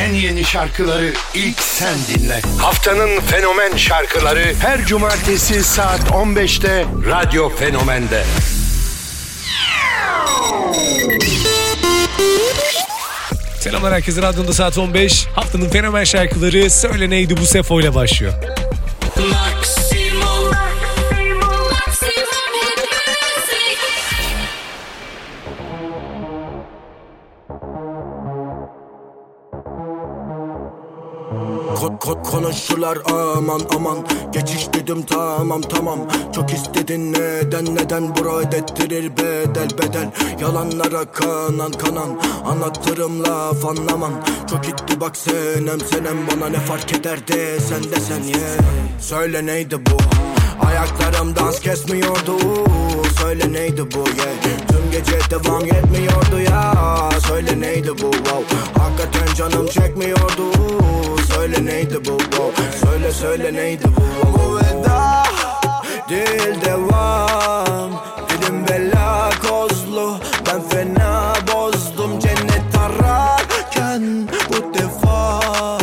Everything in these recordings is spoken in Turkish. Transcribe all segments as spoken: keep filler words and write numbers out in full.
en yeni şarkıları ilk sen dinle. Haftanın fenomen şarkıları her cumartesi saat on beşte Radyo Fenomen'de. Selamlar herkese, radyonda saat on beş. Haftanın fenomen şarkıları Söyle Neydi Bu Sefo ile başlıyor. Konuşurlar aman aman, geçiş dedim tamam tamam. Çok istedin neden neden, bura ödettirir bedel bedel. Yalanlara kanan kanan, anlatırım laf anlamam. Çok gitti bak senem senem, bana ne fark ederdi sen de sen ye yeah. Söyle neydi bu, ayaklarım dans kesmiyordu. Söyle neydi bu yeah. Tüm gece devam etmiyordu ya. Söyle neydi bu wow. Hakikaten canım çekmiyordu. Söyle neydi bu wow. Söyle söyle neydi bu wow. Bu veda değil devam. Dilim bela kozlu, ben fena bozdum. Cennet ararken bu defa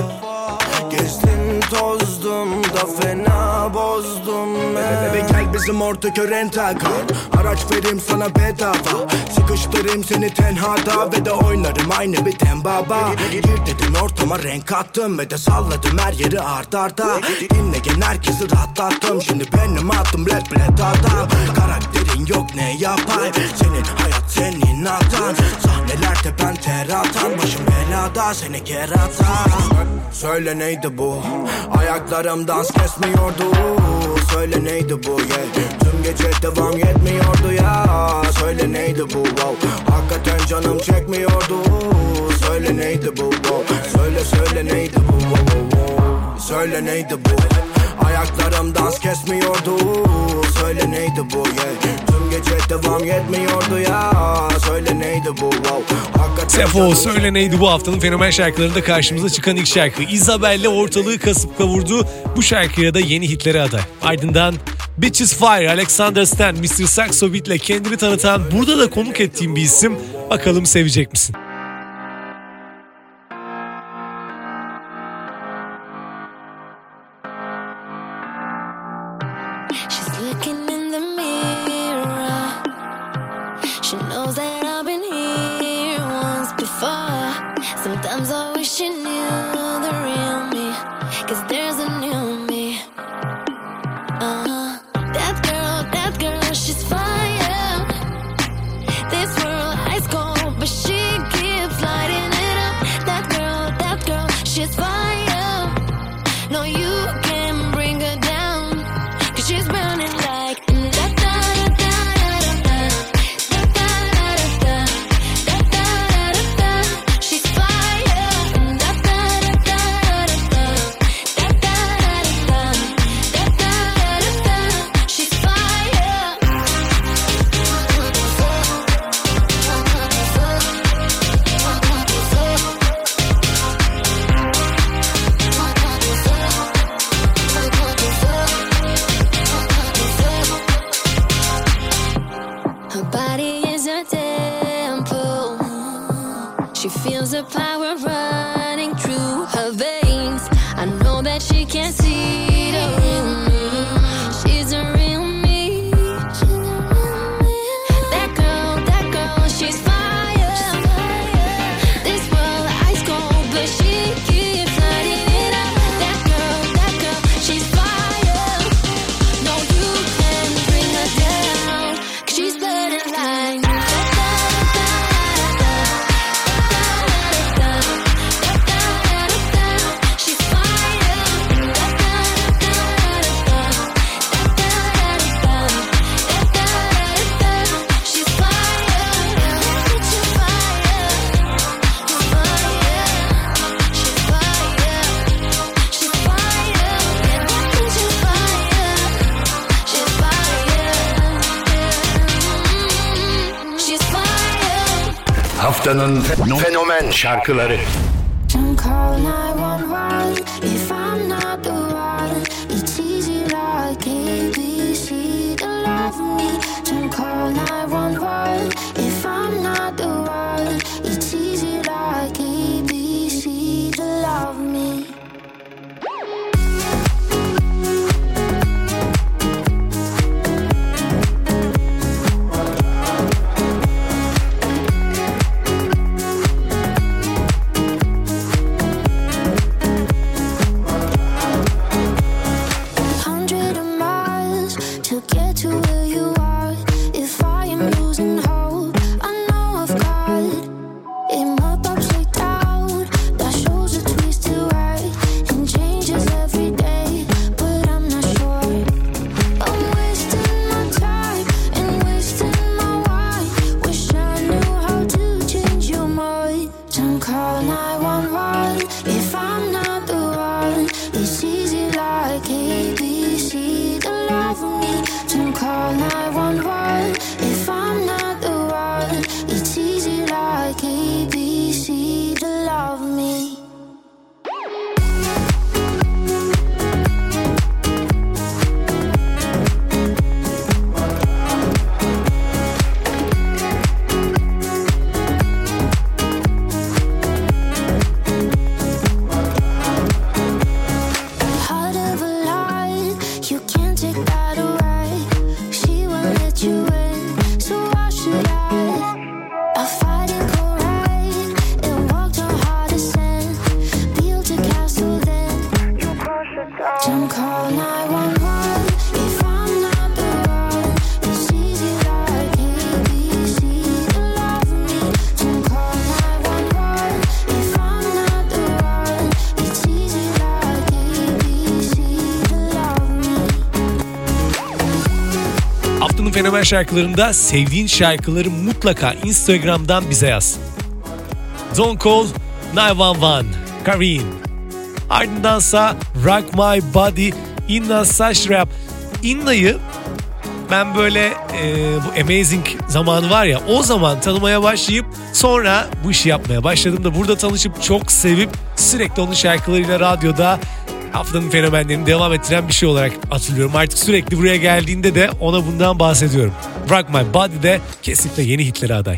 gezdim tozdum da fena bozdum. Bebe gel bizim ortak rental kar. Araç vereyim sana bedava, sıkıştırayım seni tenhada ve de oynarım aynı bir tembaba. Gir dedim ortama, renk kattım ve de salladım her yeri art arda. Dinleyen herkesi rahatlattım, şimdi benim attım rap rap adam. Karakterin yok ne yapayım, senin hayat senin hatan. Sahnelerde ben ter atan, başım belada seni keratan. Söyle neydi bu, ayaklarım dans kesmiyordu. Söyle neydi bu yeah. Tüm gece devam etmiyordu ya. Söyle neydi bu wow. Hakikaten canım çekmiyordu. Söyle neydi bu wow. Söyle söyle neydi bu wow. Söyle neydi bu, ayaklarım dans kesmiyordu. Söyle neydi bu yeah. Tüm gece devam etmiyordu ya. Söyle neydi bu wow. Sefo Söyle Neydi Bu haftanın fenomen şarkılarında karşımıza çıkan ilk şarkı. Isabel'le ortalığı kasıp kavurdu. Bu şarkıya da yeni hitlere aday. Ardından Bitches Fire, Alexander Stan, mister Saxo Beat'le kendini tanıtan, burada da konuk ettiğim bir isim. Bakalım sevecek misin? Sometimes I wish you knew the real me, 'cause there's a new me. Uh-huh. That girl, that girl, she's fire. This world ice cold, but she keeps lighting it up. That girl, that girl, she's fire. No, you can't bring her down, 'cause she's burning like da da da da da da da da da da da da da. She's she feels the power running through her veins. I know that she can't see the real me. She's a real me. That girl, that girl, she's fire. This world ice cold, but she keeps lighting it up. That girl, that girl, she's fire. No, you can't bring her down, 'cause she's burning like Haftanın fenomen şarkıları. Don't call nine one one if I'm not the one. It's easy like A B C to love me. Don't call nine one one if I'm not the one. It's easy like A B C to one one. If I'm not the one, it's easy like A B C to love me. Don't call nine one one. If I'm not the one, it's easy like A B C to love me. Fenomen şarkılarında sevdiğin şarkıları mutlaka Instagram'dan bize yaz. Don't Call nine one one, Karin. Ardındansa Rock My Body, Inna Saşrap. Inna'yı ben böyle e, bu Amazing zamanı var ya, o zaman tanımaya başlayıp sonra bu işi yapmaya başladım da burada tanışıp çok sevip sürekli onun şarkılarıyla radyoda haftanın fenomenlerini devam ettiren bir şey olarak hatırlıyorum. Artık sürekli buraya geldiğinde de ona bundan bahsediyorum. Rock My Body de kesinlikle yeni hitlere aday.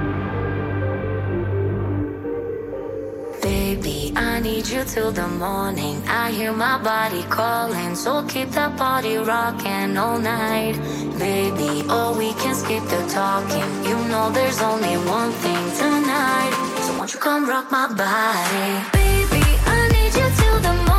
Baby, I need you till the morning. I hear my body calling, so keep that body rocking all night. Baby, oh, we can skip the talking. You know there's only one thing tonight. So won't you come rock my body? Baby, I need you till the morning.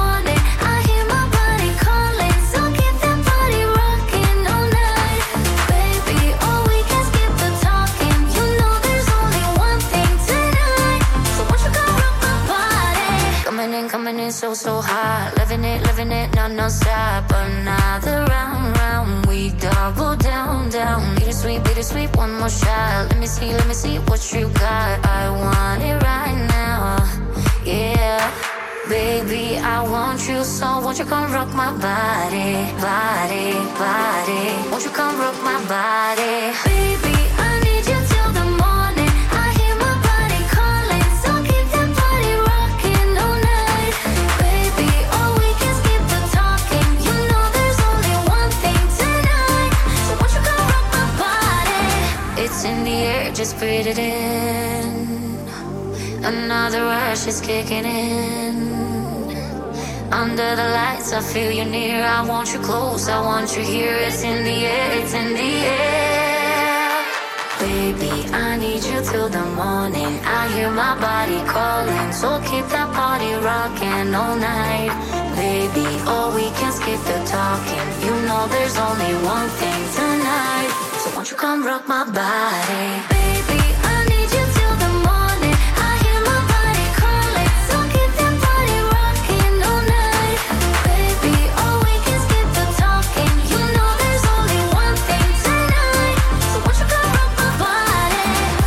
Coming in so, so hot, living it, living it, no, no stop. Another round, round, we double down, down. Bittersweet, bittersweet, one more shot. Let me see, let me see what you got. I want it right now, yeah. Baby, I want you, so won't you come rock my body, body, body. Won't you come rock my body, baby, I need you till the morning. I hear my body calling, so keep that body rocking all night. Baby, oh, we can skip the talking. You know there's only one thing tonight. So won't you come rock my body? It's in the air, just breathe it in. Another rush is kicking in. Under the lights, I feel you near. I want you close, I want you here. It's in the air, it's in the air. Baby, I need you till the morning. I hear my body calling, so keep that party rocking all night. Baby, oh, we can skip the talking. You know there's only one thing tonight. So won't you come rock my body? Baby, I need you till the morning. I hear my body calling, so keep that party rocking all night. Baby, oh, we can skip the talking. You know there's only one thing tonight. So won't you come rock my body?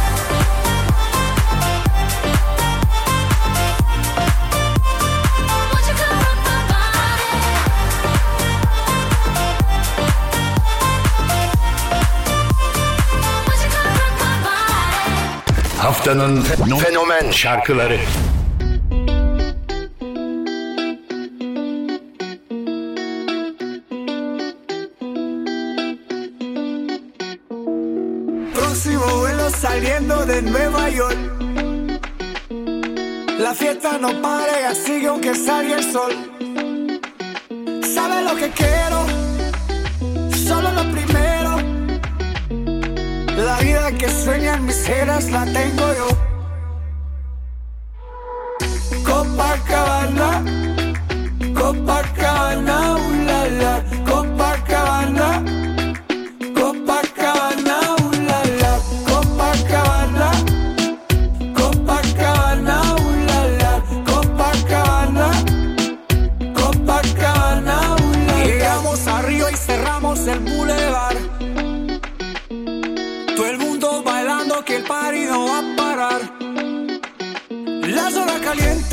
Won't you come rock my body? Won't you come rock my body? Haftanın fenomen şarkıları. Próximo vuelo saliendo de Nueva York. La fiesta no para y sigue aunque salga el sol. Sabe lo que quiero, solo lo primero. La vida que sueñan mis jeras la tengo yo. Copacabana, Copacabana, uh, la, la. Copacabana, Copacabana, uh, la, la. Copacabana, Copacabana, uh, la, la. Copacabana, Copacabana, uh, la, la. Llegamos a Río y cerramos el boulevard. Todo el mundo bailando que el party no va a parar. La zona caliente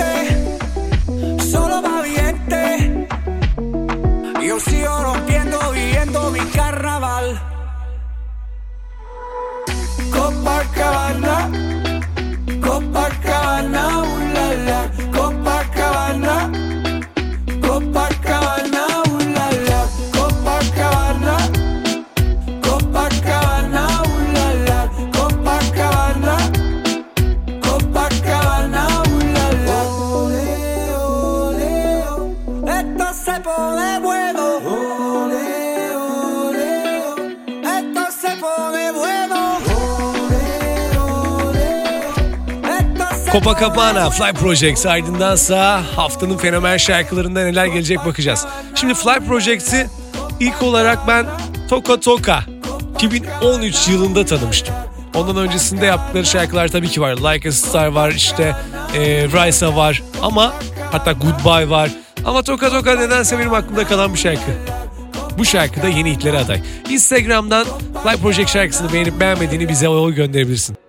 Copacabana, Fly Projects, ardındansa haftanın fenomen şarkılarında neler gelecek bakacağız. Şimdi Fly Projects'i ilk olarak ben Toka Toka iki bin on üç yılında tanımıştım. Ondan öncesinde yaptıkları şarkılar tabii ki var. Like a Star var, işte e, Risa var, ama hatta Goodbye var. Ama Toka Toka nedense benim aklımda kalan bir şarkı. Bu şarkı da yeni hitlere aday. Instagram'dan Fly Project şarkısını beğenip beğenmediğini bize oy gönderebilirsin.